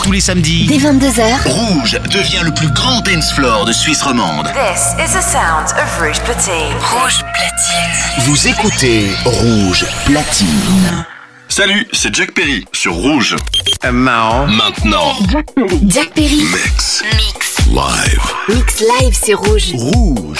tous les samedis. Dès 22h. Rouge devient le plus grand dance floor de Suisse romande. This is the sound of Rouge Platine. Rouge Platine. Vous écoutez Rouge Platine. Salut, c'est Jack Perry sur Rouge. Maintenant. Jack Perry. Mix live. Mix live, c'est Rouge. Rouge.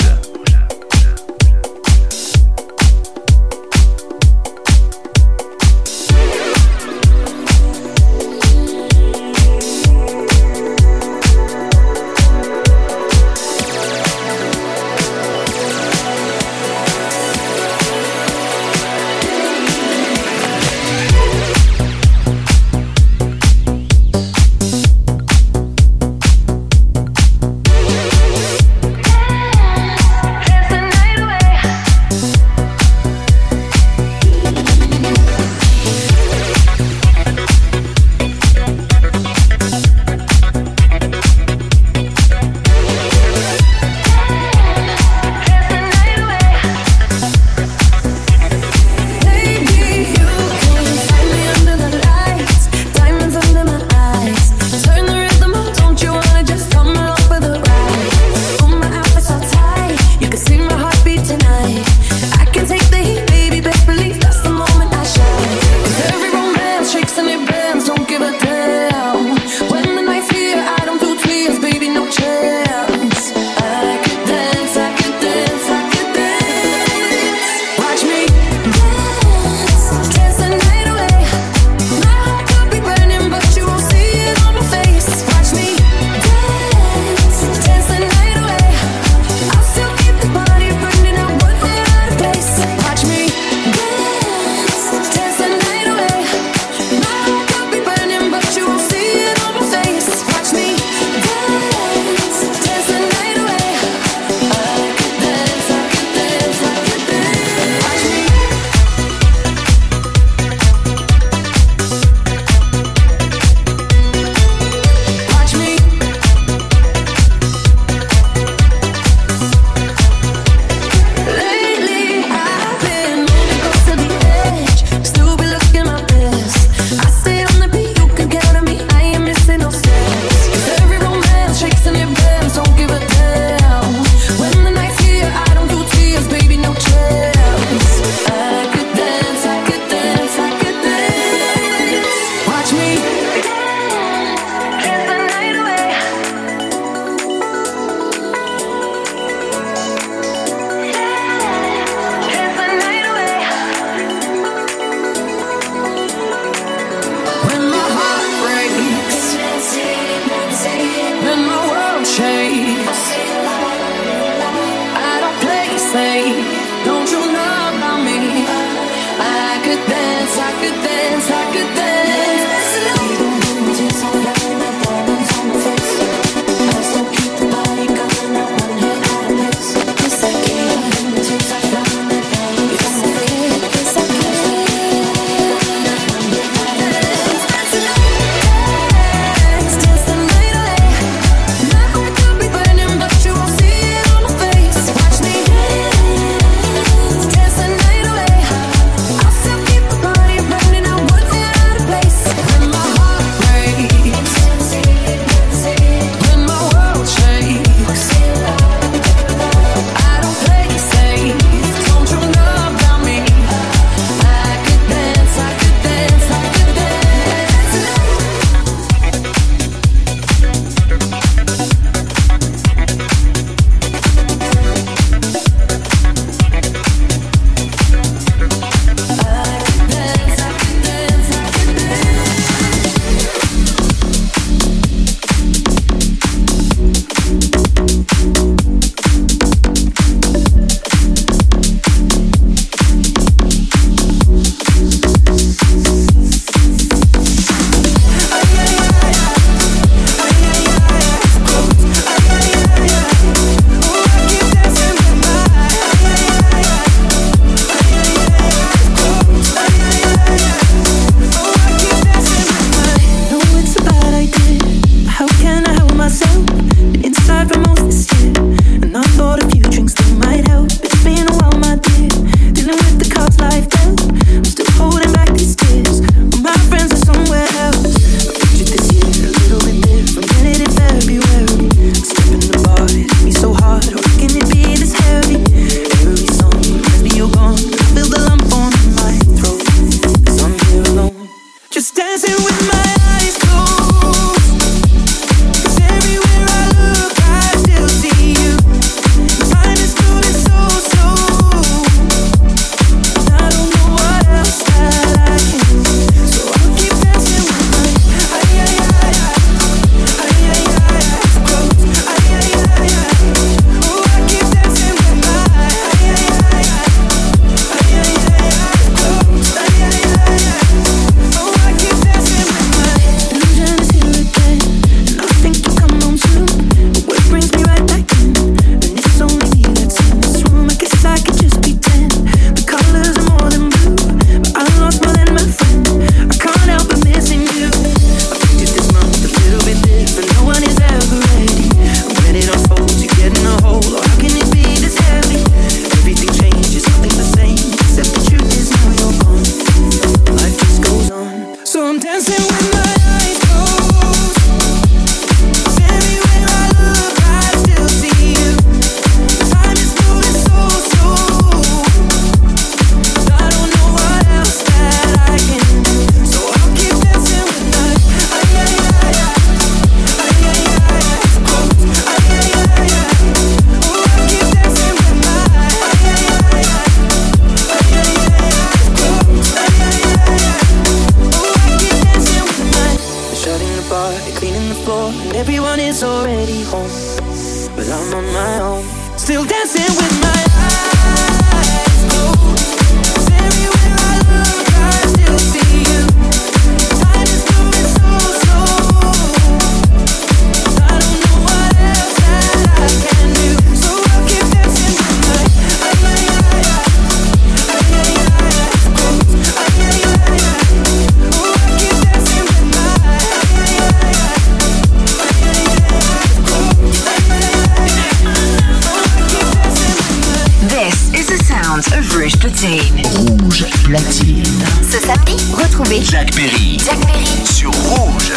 Rouge Platine. Ce samedi, retrouvez Jack Perry. Jack Perry Sur Rouge.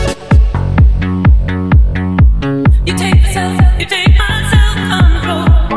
You take myself on the road.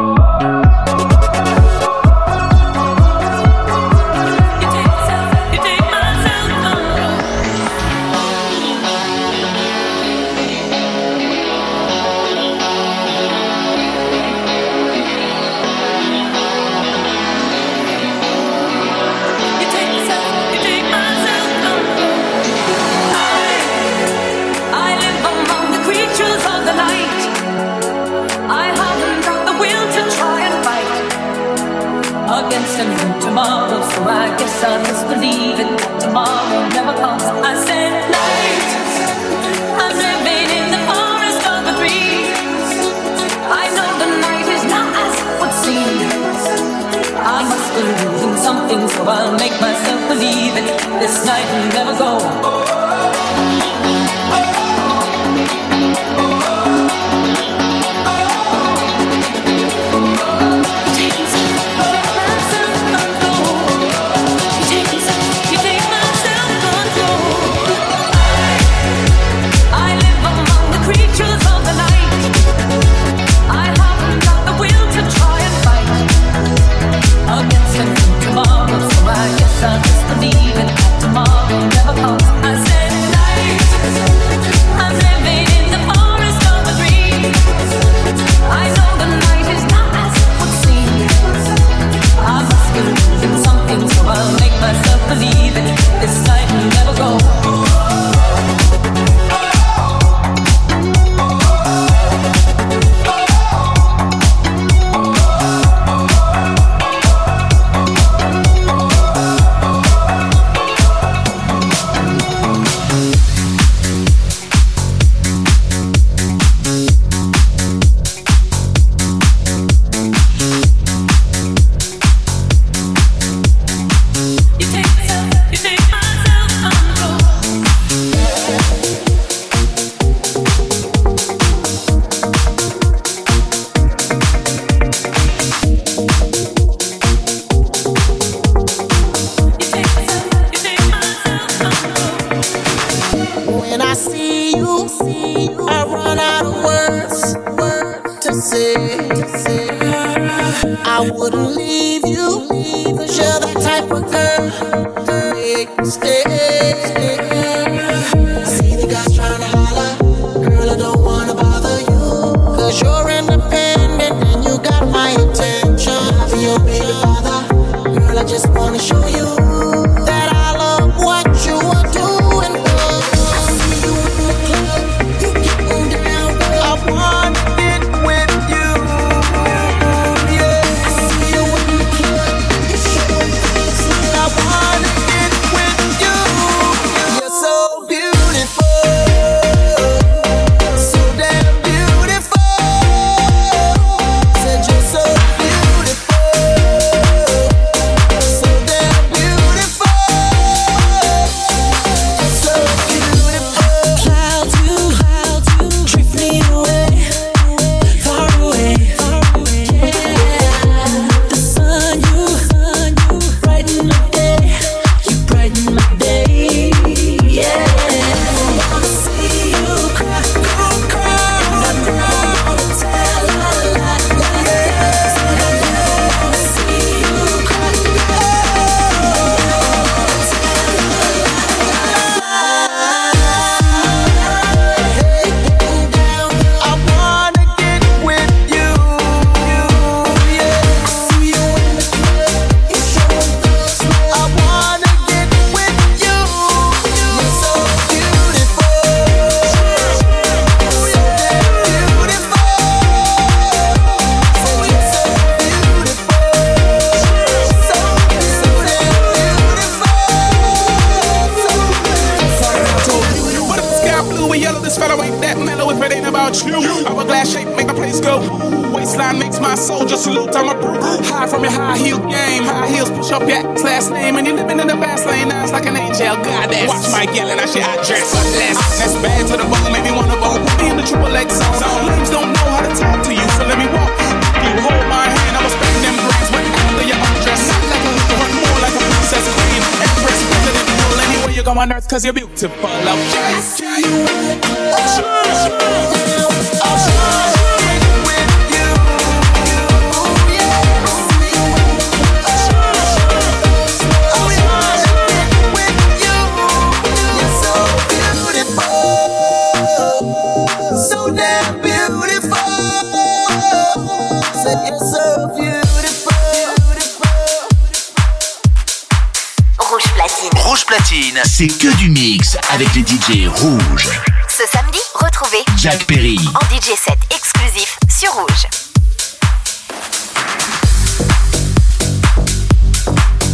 tomorrow, so I guess I'll just believe it. Tomorrow never comes. I said night. I'm living in the forest of the trees. I know the night is not as it would seem. I must be losing something, so I'll make myself believe it. This night will never go. I'll just believe it. Tomorrow never comes. I said night. I'm living in the forest of a dream. I know the night is not as it would seem. I must be losing something, so I'll make myself believe it. This night will never go. I wouldn't leave you, 'cause you're the type of girl to make me stay. See the guys trying to holler, girl, I don't wanna bother you, 'cause you're independent and you got my attention. To your baby father, girl, I just wanna show you that I love what you are doing. I see you in the club, you getting down, girl. I want it with you. Yeah, I see you in the club, you showing things like I want it with you. You're so beautiful, so damn beautiful. Said you're so beautiful, so damn beautiful. You're so beautiful. Clouds you drift me away, far away. The sun you brighten my day, you brighten my day. Yeah, I wanna see you cry, cry. I wanna tell a lie. Yeah, I wanna see you cry. Hey, getting down, I wanna get with you. Yeah, I see you in the club, you showing things like I wanna get with you. You're so beautiful, so damn beautiful. So you're so beautiful, so damn beautiful. What if the sky blue and yellow? This fellow ain't that mellow if it ain't about you. Hourglass shape make the place go. Waistline makes my soul just salute. I'm a brute. High from your high heel game. High heels push up your ass last name. And you living in the fast lane. Now it's like an angel. Goddess. Watch Mike yelling. I shit. I dress. That's bad to the bone. Maybe one of them. Put me in the triple X zone. Lames don't know how to talk to you. So let me walk you. Hold my hand. I will spend them brains when after you undress. Not like a hooker, but more like a princess queen. Empress, president, rule anywhere you go on earth. 'Cause you're beautiful. I'm just so damn beautiful. Said you're so beautiful. Rouge Platine. Rouge Platine, c'est que du mix avec les DJ rouges. Ce samedi, retrouvez Jack Perry. en DJ set exclusif sur Rouge.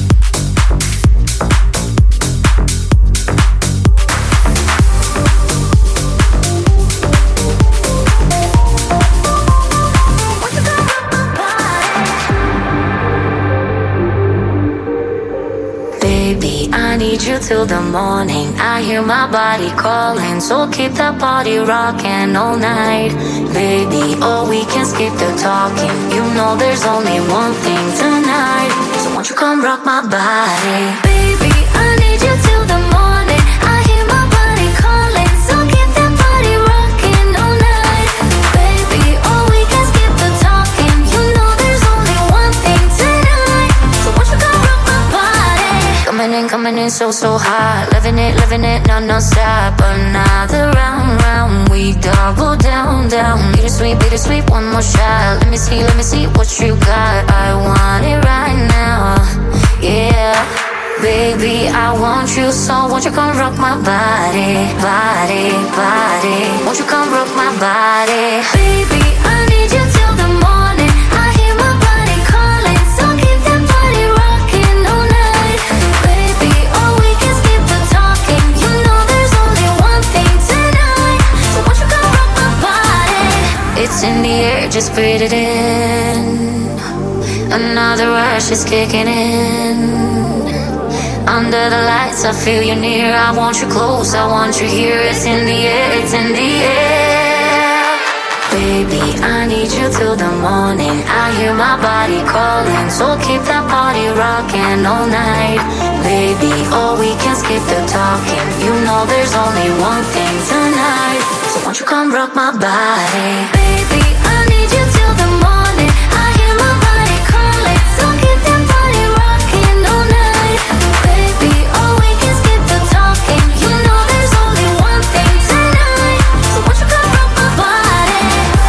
you till the morning. I hear my body calling, so keep that body rocking all night. Baby, oh, we can skip the talking. You know there's only one thing tonight. So won't you come rock my body? Baby, I need you till the morning. I hear my body calling, so keep that body rocking all night. Baby, oh, we can skip the talking. You know there's only one thing tonight. So won't you come rock my body? Coming in so hot. Living it, non-stop. Another round, we double down. Bittersweet, one more shot. Let me see what you got. I want it right now, yeah. Baby, I want you, so won't you come rock my body. Won't you come rock my body? Baby, I need you till the morning. I hear my body calling, so keep that body rocking all night. Baby, oh, we can skip the talking. You know there's only one thing tonight. So won't you come rock my body? It's in the air, just breathe it in. Another rush is kicking in. Under the lights, I feel you near. I want you close, I want you here. It's in the air, it's in the air. Baby, I need you till the morning. I hear my body calling, so keep that body rocking all night. Baby, oh, we can skip the talking. You know there's only one thing tonight. So won't you come rock my body? Baby, I need you till the morning. I hear my body calling, so keep that body rocking all night. Baby, oh, we can skip the talking. You know there's only one thing tonight. So won't you come rock my body?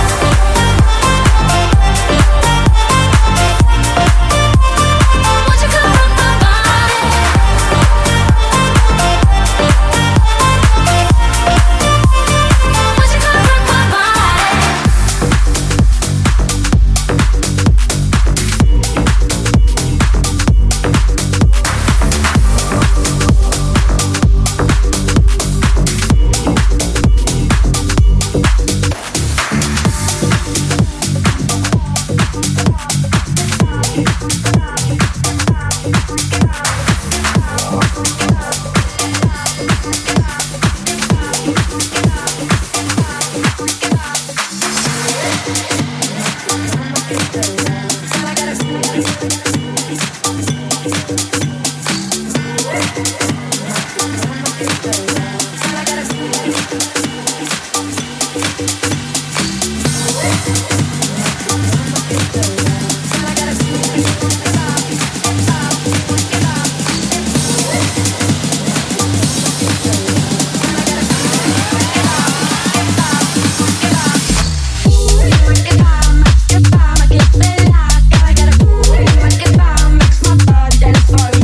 Won't you come rock my body? Won't you come rock my body? Get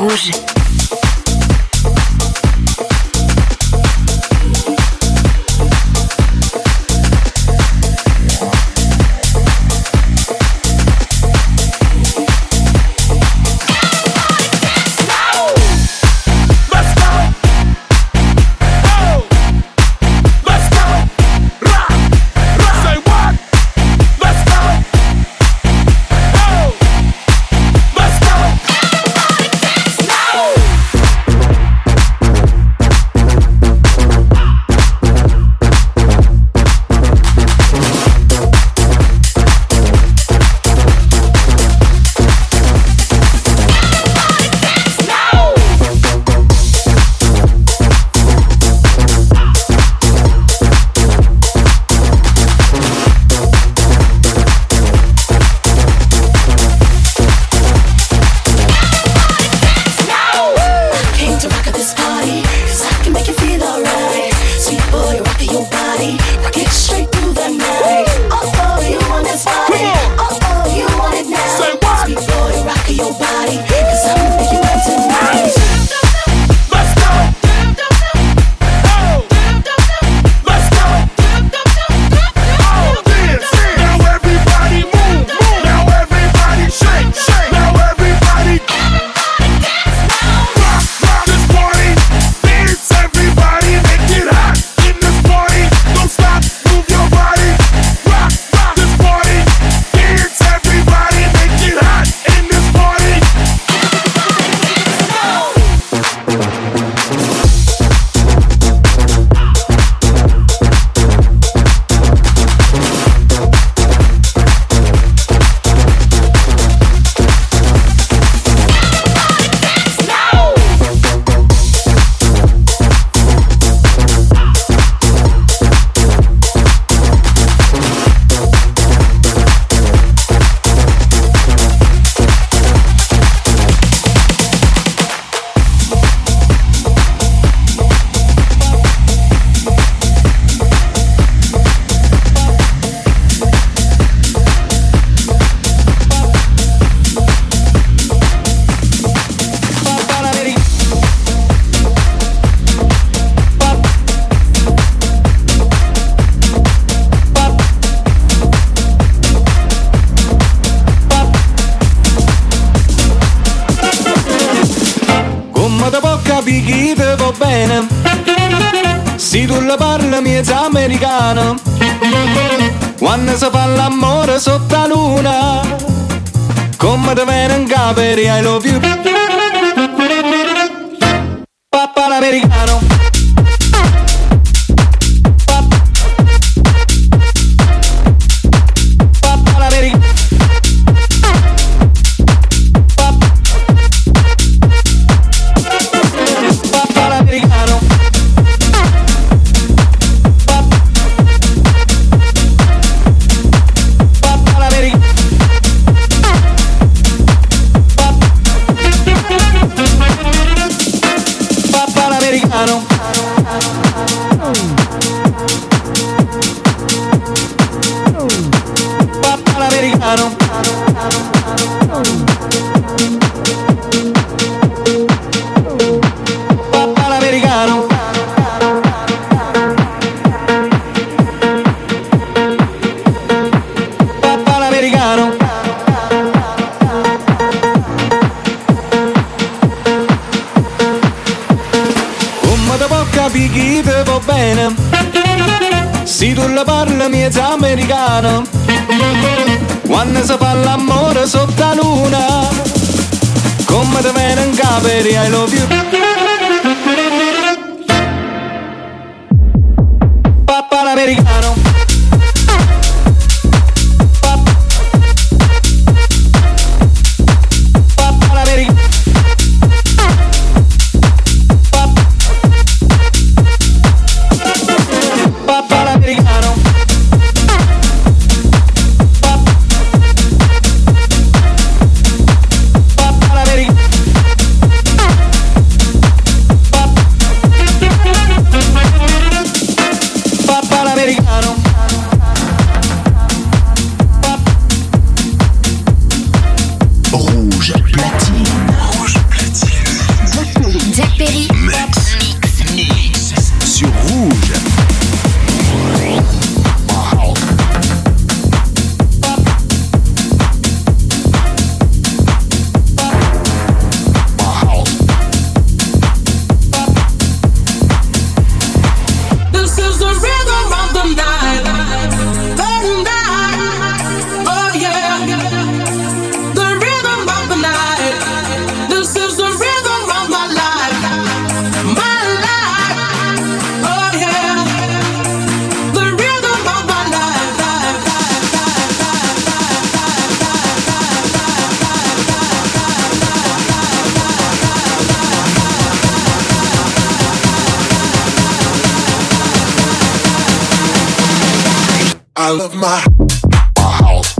Rouge. Americano, quando si fa l'amore sotto la luna, come te viene in capo I love you. Papà l'americano. Papà l'americano. Papà l'americano. Se tu la parli miezza americano, quando si fa l'amore sotto la luna, come te viene in capo I love you. Papà l'americano. I love my house.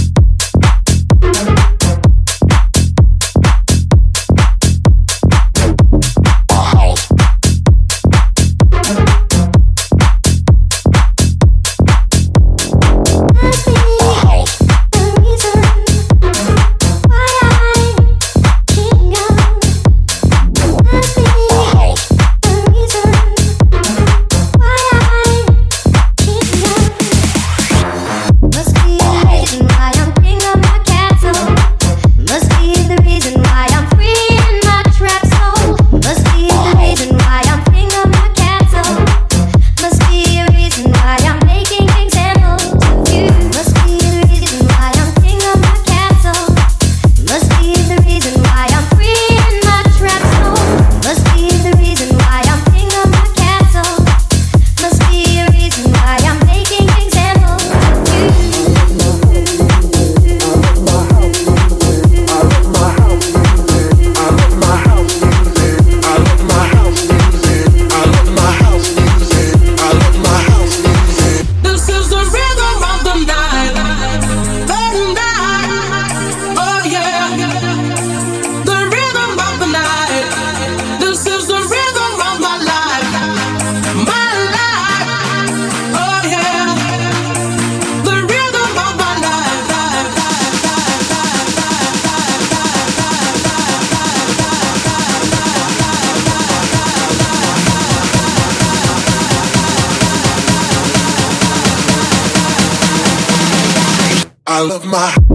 I love my house.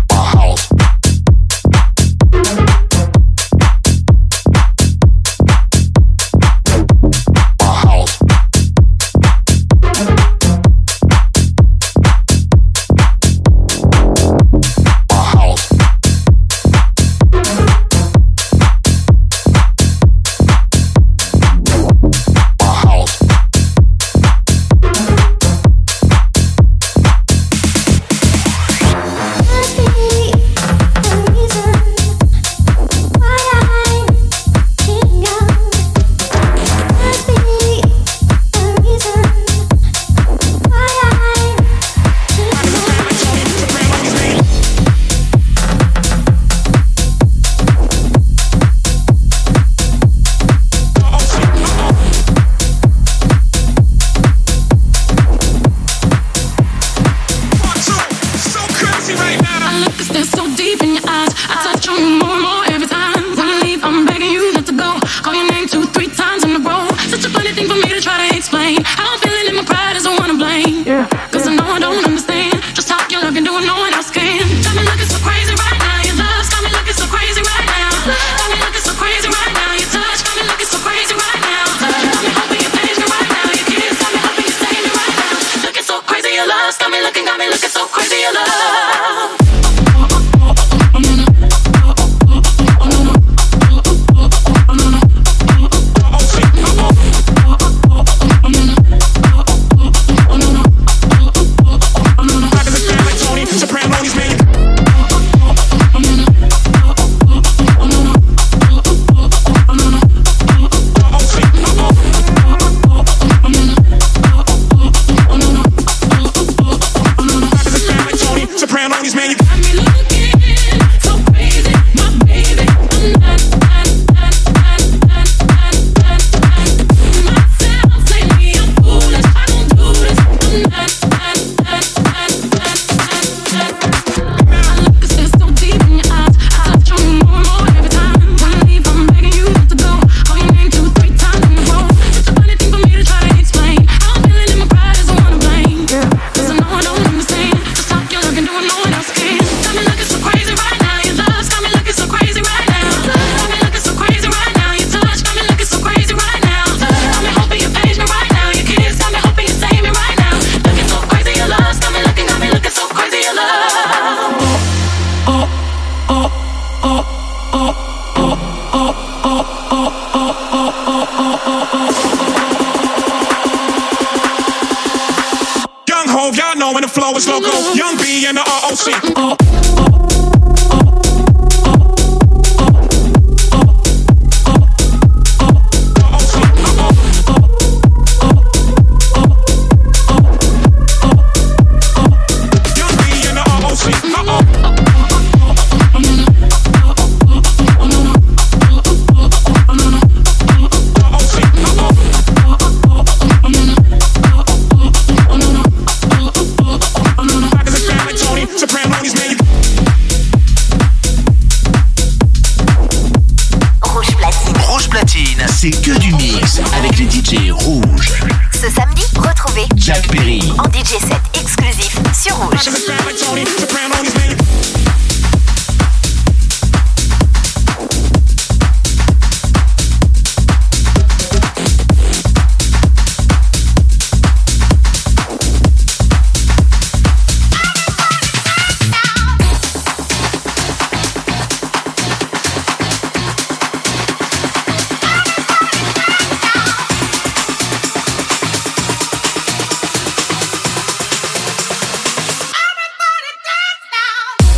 Young B and the ROC. mix avec les DJ rouges. Ce samedi, retrouvez Jack Perry en DJ set exclusif sur Rouge. Everybody dance now.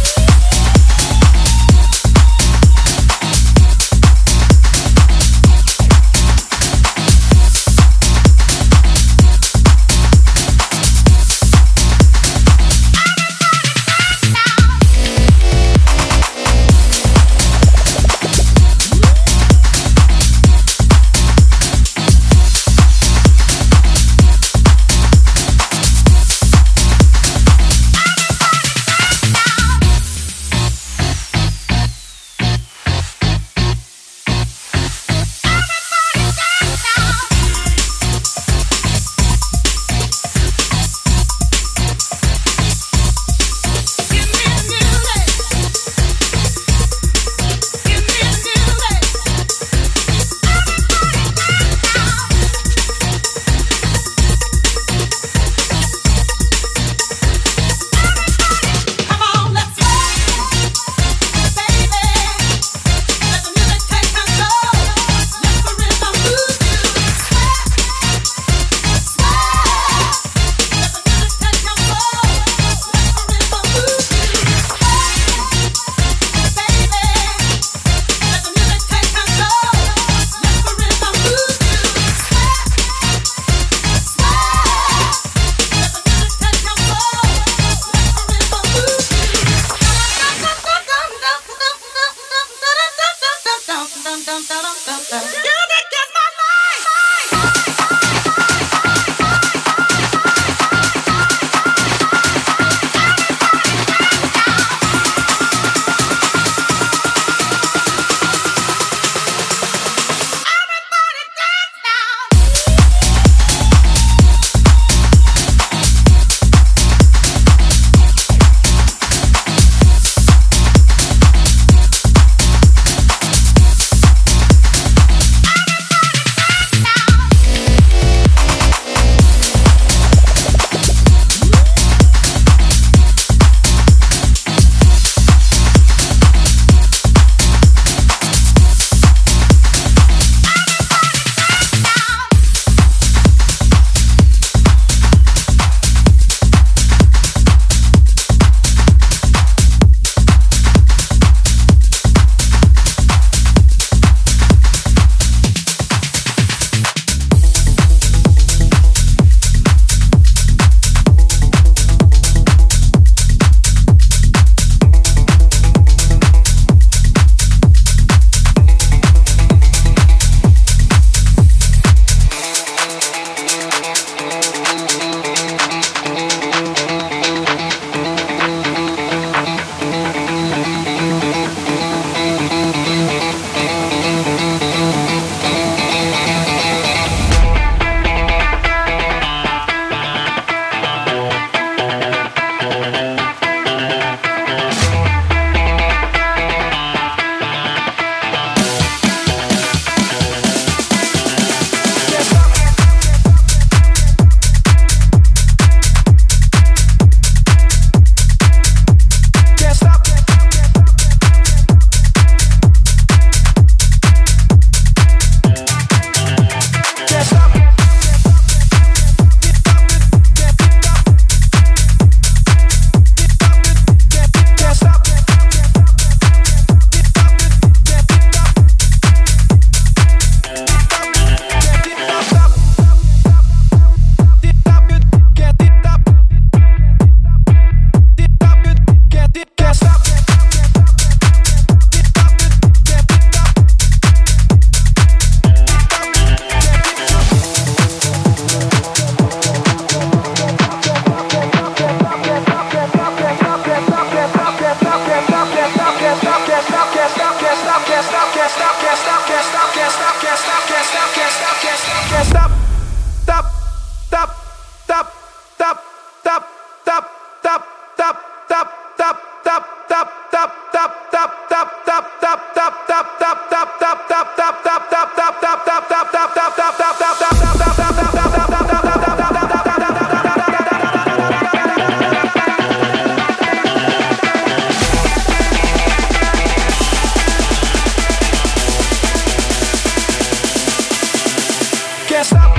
Can't stop.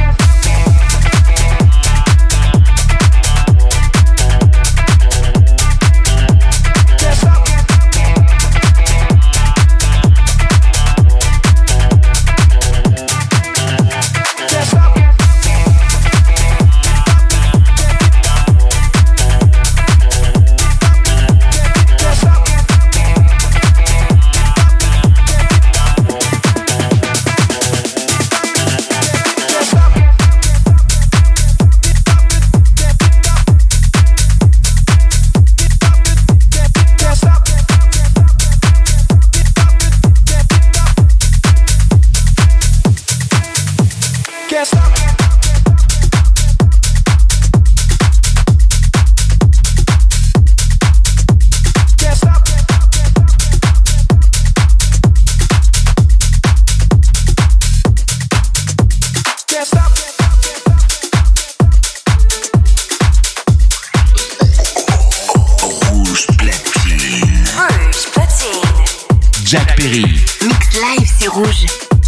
Jack Perry. Mix live, c'est rouge.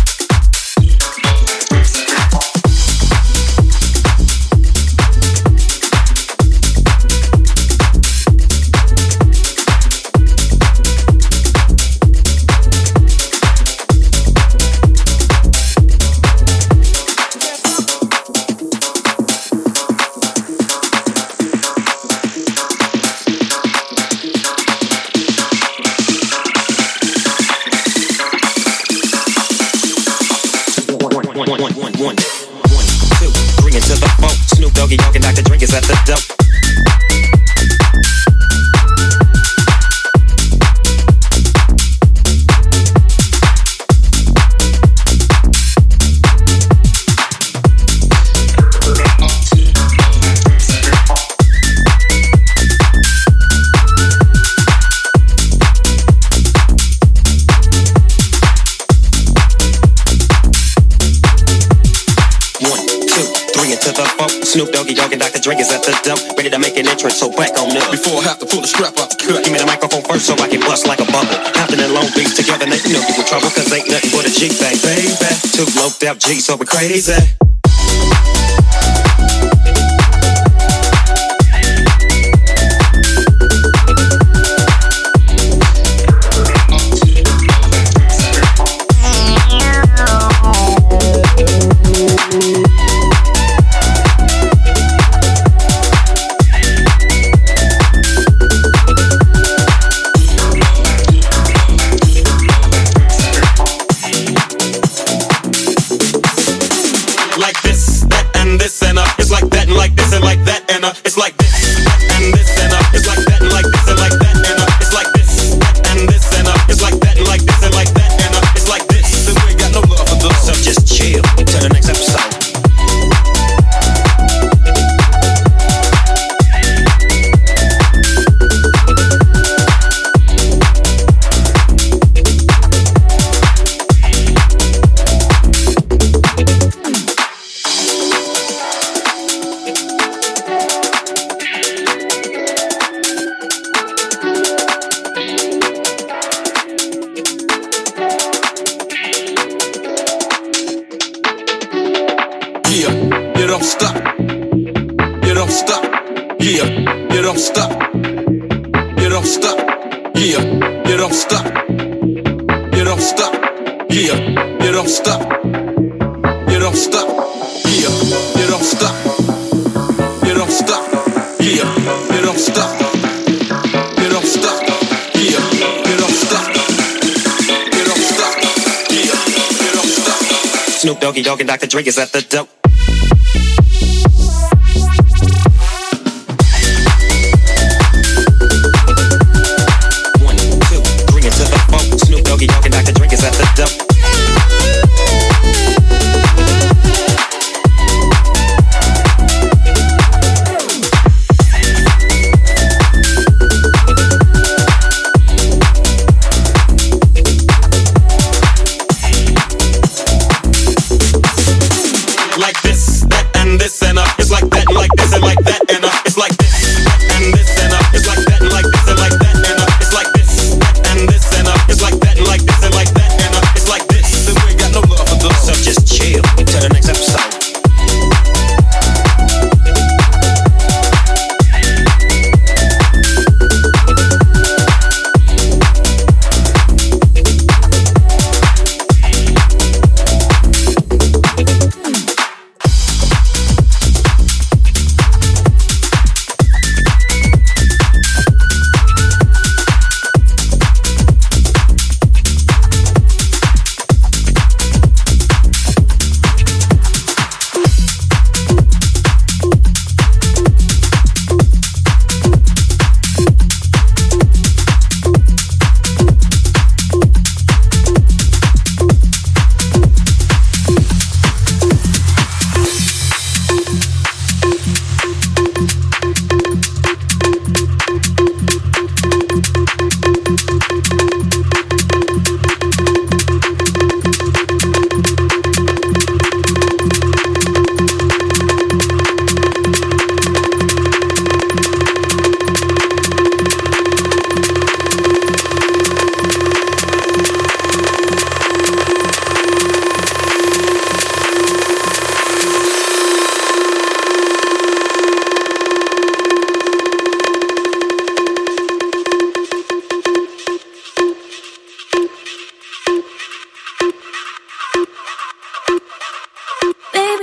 Snoop Doggy Dogg and Dr. Dre is at the dump, ready to make an entrance, so back on up. Before I have to pull the strap out the cut, give me the microphone first so I can bust like a bubble. Compton and Long Beach together, now you know you in trouble, cause ain't nothing but a G-Bang, baby. Two loped out G's, so we're crazy. It's like this and this and it's like that and like this and like that and it's like this and this and it's like that and like this and like that and it's like this. Then we ain't got no love for those. So just chill to the next episode. Snoop Doggy Dogg and Dr. Dre is at the dope. 1, 2, 3 into the 4. Snoop Doggy Dogg and Dr. Dre is at the dope. Like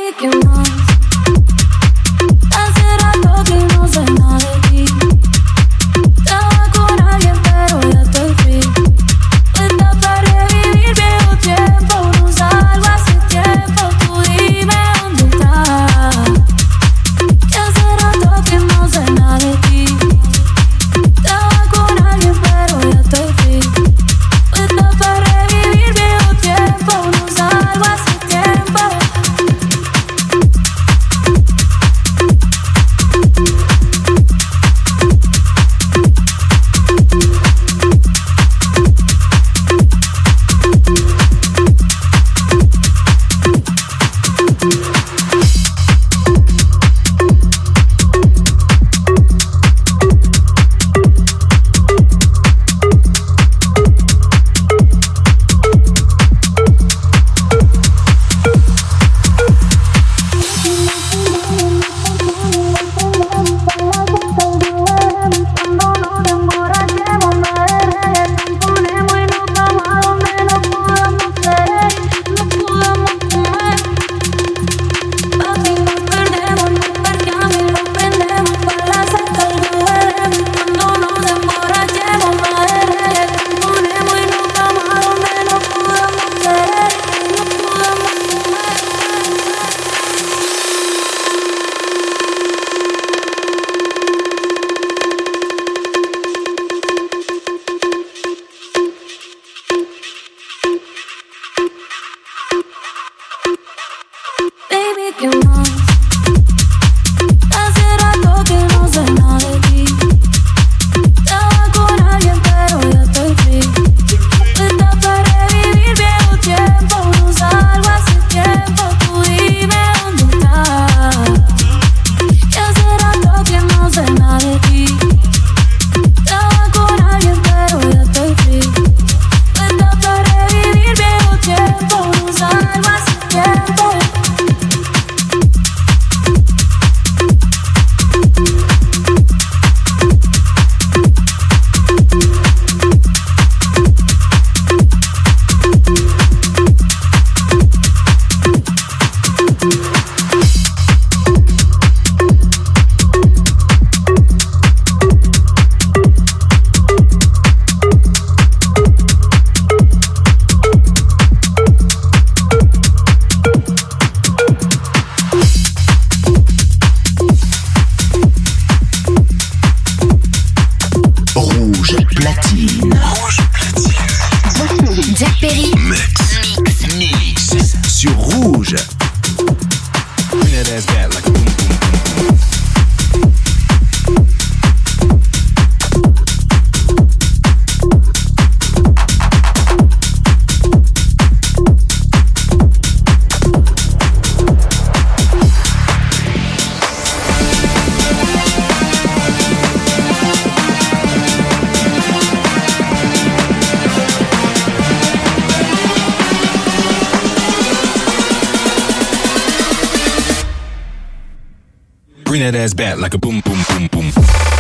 Bring that ass back like a boom, boom, boom, boom.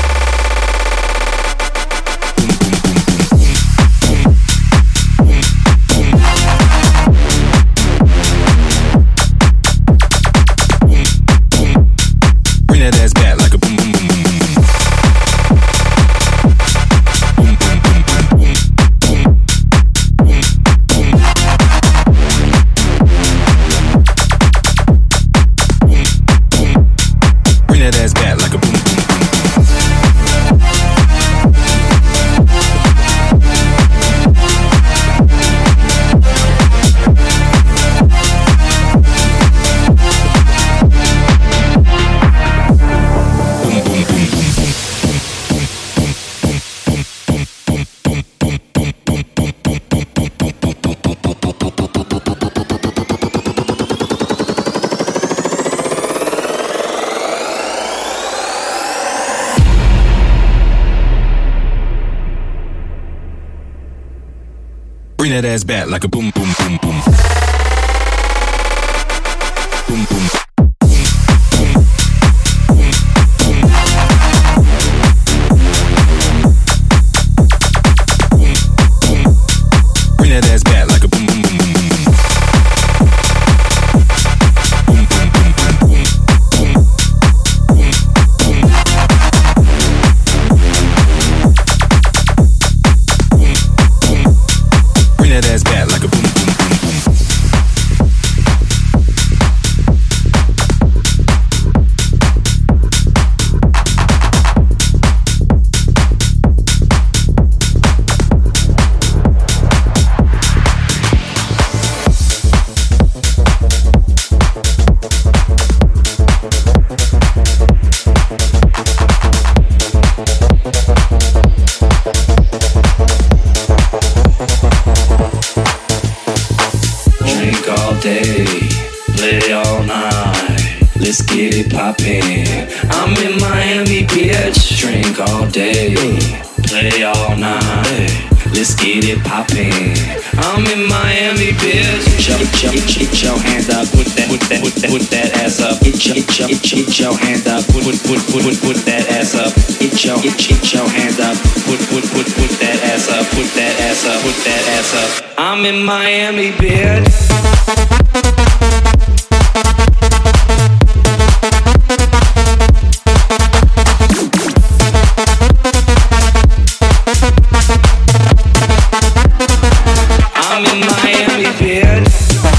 Bring that ass back like a boom, boom, boom, boom, boom. Boom, boom, boom, boom, boom, boom, boom, boom. Bring that ass back like a boom, boom, boom. Bring that ass back like a boom, boom, boom, boom. Boom, boom. Bring that ass back like a boom, boom, boom, boom, boom. Boom, boom, boom. let's get it poppin'. I'm in Miami, bitch. Drink all day, play all night. Let's get it poppin'. I'm in Miami, bitch. Get your hands up, put that ass up. Get your hands up, put that ass up. Get your hands up, put that ass up, put that ass up, put that ass up. I'm in Miami, bitch. I'm in Miami, bitch.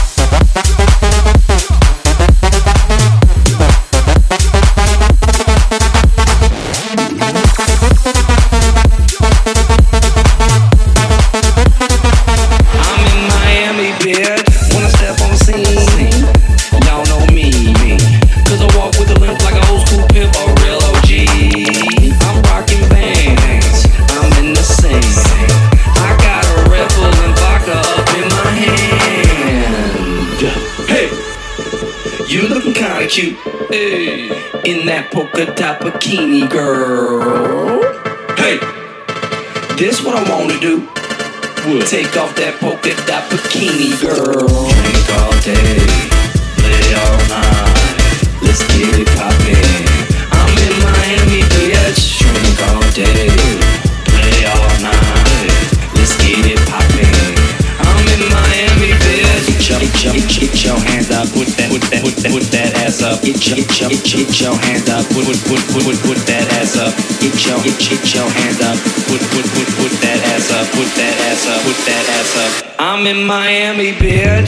I'm in Miami, bitch. When I step on scene, y'all know me. Cause I walk with a limp like an old school pimp or real OG. I'm rocking bands, I'm in the scene. I got a Red Bull and vodka up in my hand. Hey, you looking kinda cute, hey, in that polka dot bikini, girl. Hey, this what I wanna do. Take off that polka dot bikini, girl. Drink all day, play all night. Let's get it poppin'. I'm in Miami, bitch. Drink all day, play all night. Let's get it poppin'. I'm in Miami, bitch. Get your hands up, put that ass up. Get your hands up, put that ass up. Get your hands up, put that ass up, put that ass up, put that ass up. I'm in Miami, bitch.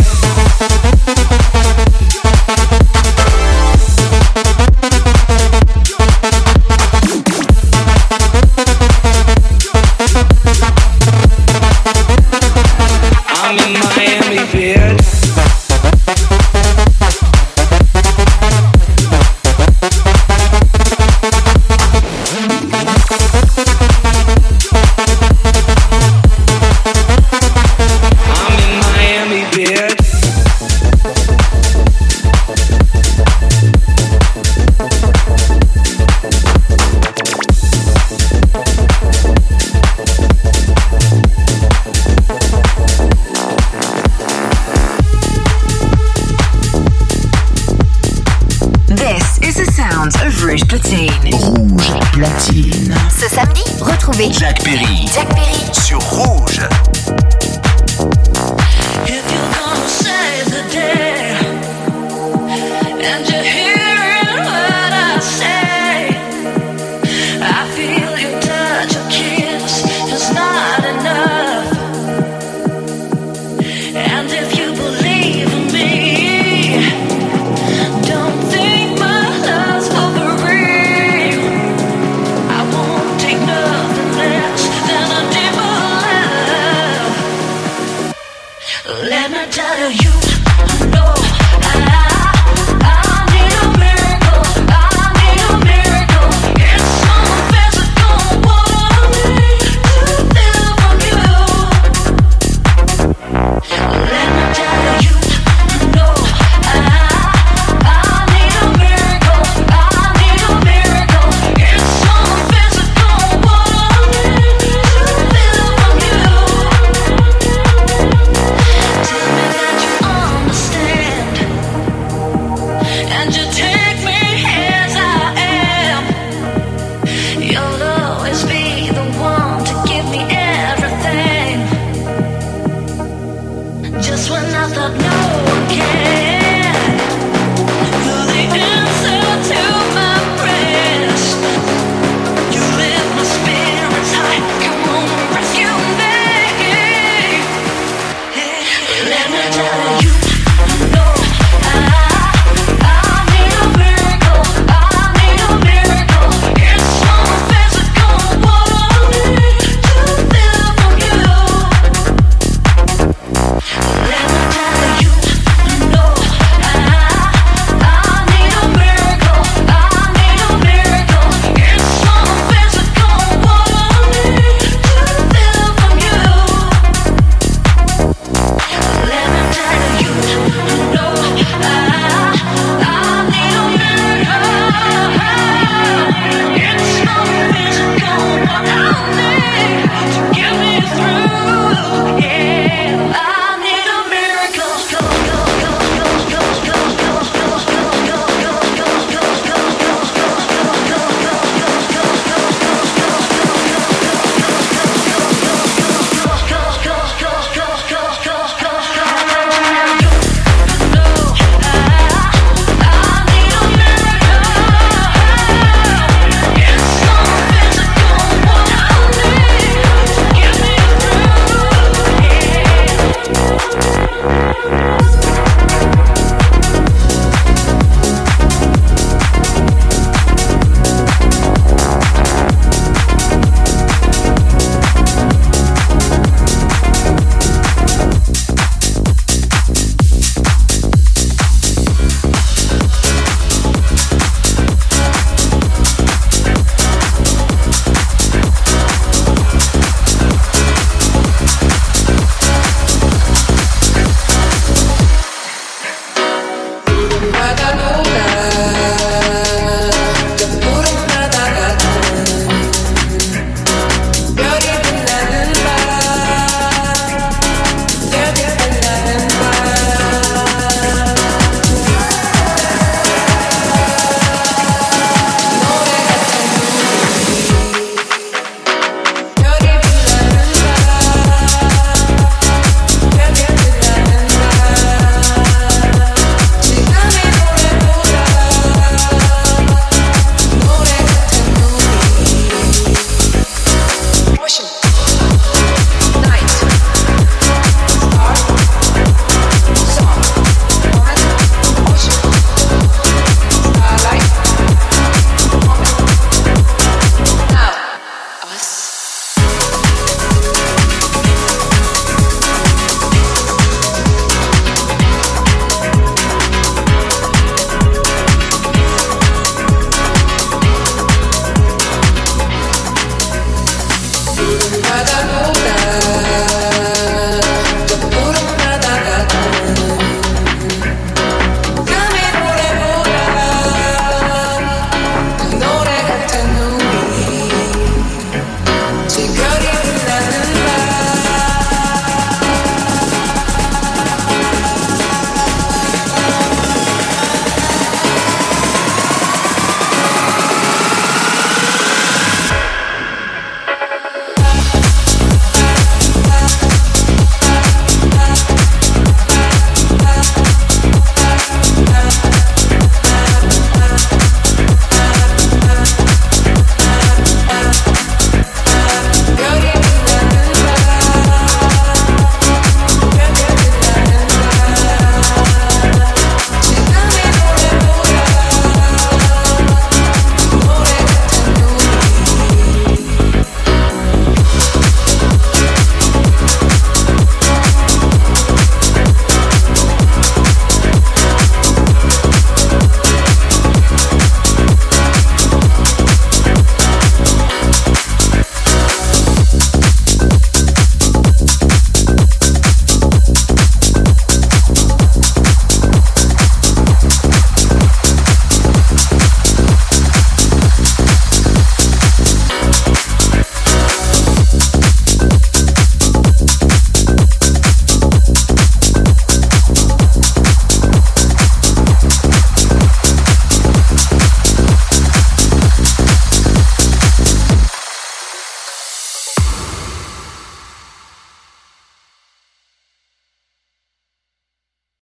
I'm in Miami, bitch. I'm in Miami, bitch. This is the sound of Rouge Platine. Rouge Platine. Ce samedi, retrouvez Jack Perry. Jack Perry Sur Rouge. If you